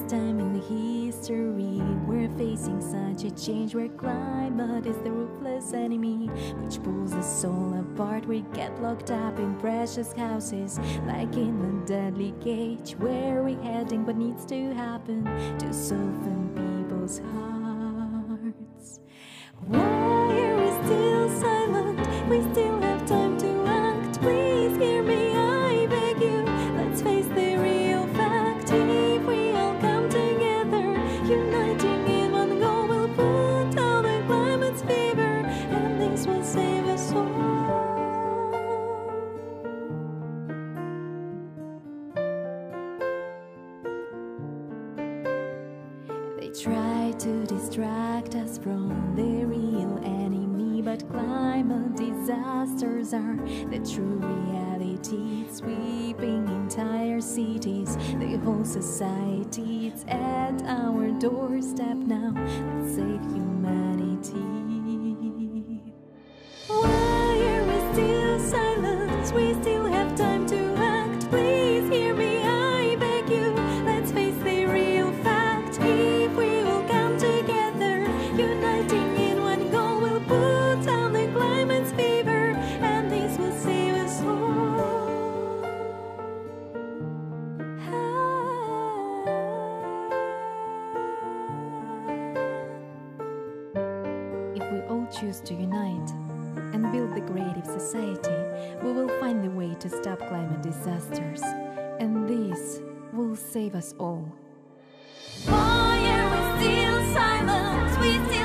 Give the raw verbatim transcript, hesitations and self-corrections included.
first time in the history we're facing such a change where climate is the ruthless enemy which pulls us all apart. We get locked up in precious houses like in a deadly cage. Where we heading? What needs to happen to soften people's hearts? Why are we still silent? We still have time to act. Please hear me, I beg you. Let's face the real fact. If we all come together, uniting in one goal, we'll put down the climate's fever, and this will save us all. They try to distract us from the real enemy, but climate disasters are the true reality. It's sweeping entire cities, the whole society. It's at our doorstep now. Let's save humanity. Why are we still silent? We still have time to act. Please hear me, I beg you. Let's face the real fact. If we all come together, uniting in one goal, we'll put down the climate's fever, and this will save us all. If we all choose to unite and build the creative society, we will find the way to stop climate disasters, and this will save us all. Why are we still silent? We still